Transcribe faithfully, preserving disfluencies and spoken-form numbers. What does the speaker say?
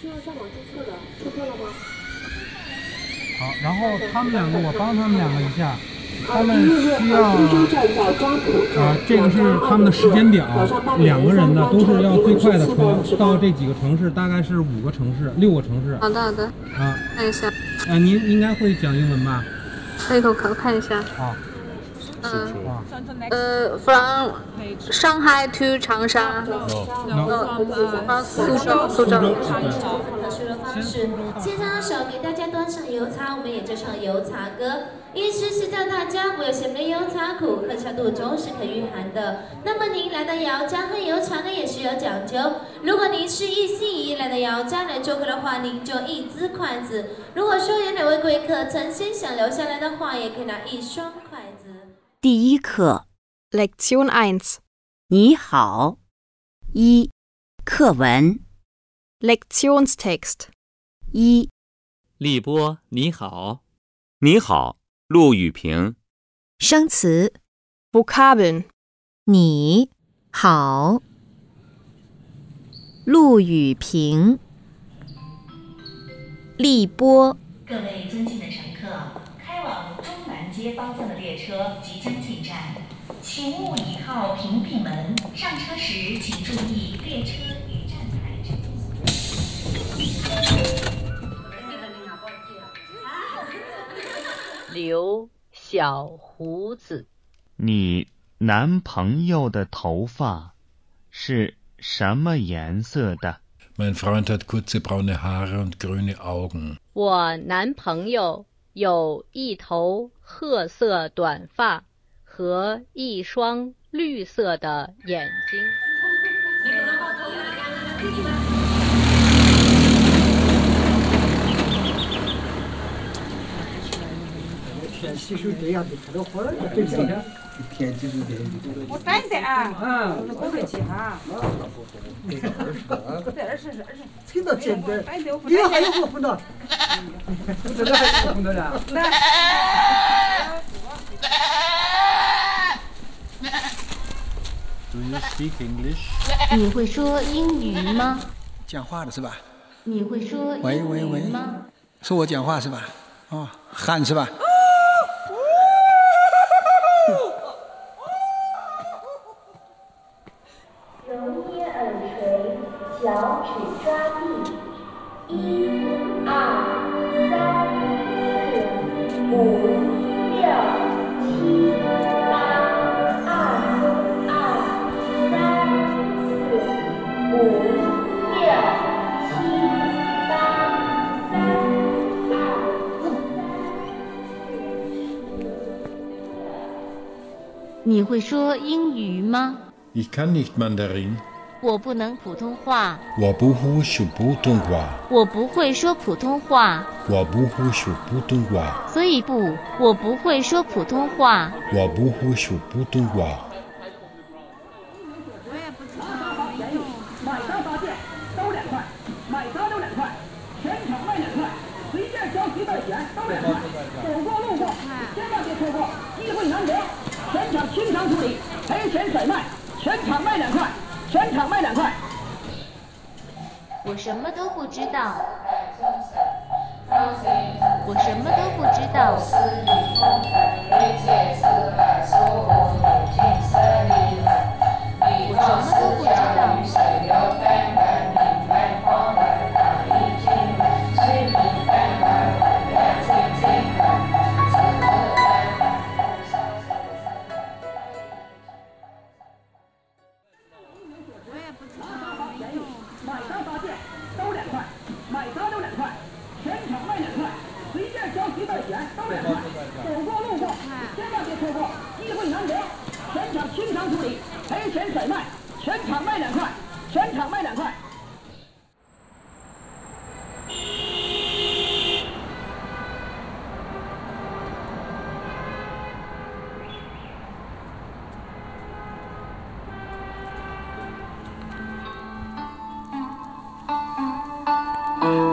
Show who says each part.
Speaker 1: 要上网注册的，注册了吗？
Speaker 2: 好，然后他们两个，我帮他们两个一下，他们需要，呃，这个是他们的时间表，两个人呢都是要最快的车到这几个城市，大概是五个城市、六个城市。
Speaker 3: 好的好的。
Speaker 2: 啊，
Speaker 3: 看一下。
Speaker 2: 呃，您应该会讲英文吧？
Speaker 3: 可以，我看看一下。
Speaker 2: 好。
Speaker 3: 嗯，呃 ，from Shanghai to 长沙。
Speaker 2: No。
Speaker 3: 啊，苏州，苏州。
Speaker 4: 现场手给大家端上油茶，我们也就唱油茶歌。意思是叫大家不要嫌没油茶苦，喝下肚中是可御寒的。那么您来到姚家喝油茶呢，也是有讲究。如果您是一心一意来到姚家来做客的话，您就一只筷子；如果说有哪位贵客曾经想留下来的话，也可以拿一双筷子。
Speaker 5: 第一课
Speaker 6: Lektion eins
Speaker 5: 你好一课文
Speaker 6: Lektionstext
Speaker 5: 一
Speaker 7: 立波你好。
Speaker 8: 你好，陆雨平。
Speaker 9: 生词
Speaker 6: Vokabeln
Speaker 9: 你好，陆雨平，立波。
Speaker 10: 各位尊敬的乘客，开往中南街方向的列车即将进站，请勿倚靠屏蔽门。上车时请注意列车与站台之间。
Speaker 11: 留小胡子。
Speaker 12: 你男朋友的头发是什么颜色的？
Speaker 13: Mein Freund hat kurze braune Haare und grüne Augen.
Speaker 11: 我男朋友有一头褐色短发和一双绿色的眼睛。
Speaker 14: 天气是这样的，看到花儿对不对？天气是这样的。
Speaker 15: 我站着啊，
Speaker 14: 嗯，
Speaker 15: 我不会去哈。这二十是二十。
Speaker 14: 听到现在，你还有我碰到，我这个还有碰到呢。
Speaker 13: Do you speak English？
Speaker 4: 你会说英语吗？
Speaker 16: 讲话的是吧？
Speaker 4: 你会说英
Speaker 16: 喂喂喂
Speaker 4: 语吗？
Speaker 16: 是我讲话是吧？哦，喊是吧？
Speaker 4: 揉捏耳垂，脚趾抓地，一、二、三、四、五、六、七、八，二、二、三、四、五、六、七、八，三、二。你会说英语吗？
Speaker 13: Ich kann nicht Mandarin.
Speaker 4: 我不能普通话。
Speaker 13: 我不会说普通话。
Speaker 4: 我不会说普通话。
Speaker 13: 我不会说普通话。
Speaker 4: 所以不，我不会说普通话。
Speaker 13: 我不会说普通话。
Speaker 15: 我也不知道。买三发件都两块，买三都两块，全场卖两块，随便交几块钱都两块。走过路过，千万别错过，机会难得。全场清偿处理，赔钱甩卖，全场卖两块，全场卖两块。
Speaker 4: 我什么都不知道。我什么都不知道。我什么都不知道。
Speaker 15: 买三发件都两块，买三都两块，全场卖两块，随便交几块钱都两块。走过路过，千万别错过，机会难得。全场清偿处理，赔钱甩卖，全场卖两块，全场卖两块。
Speaker 4: 嗯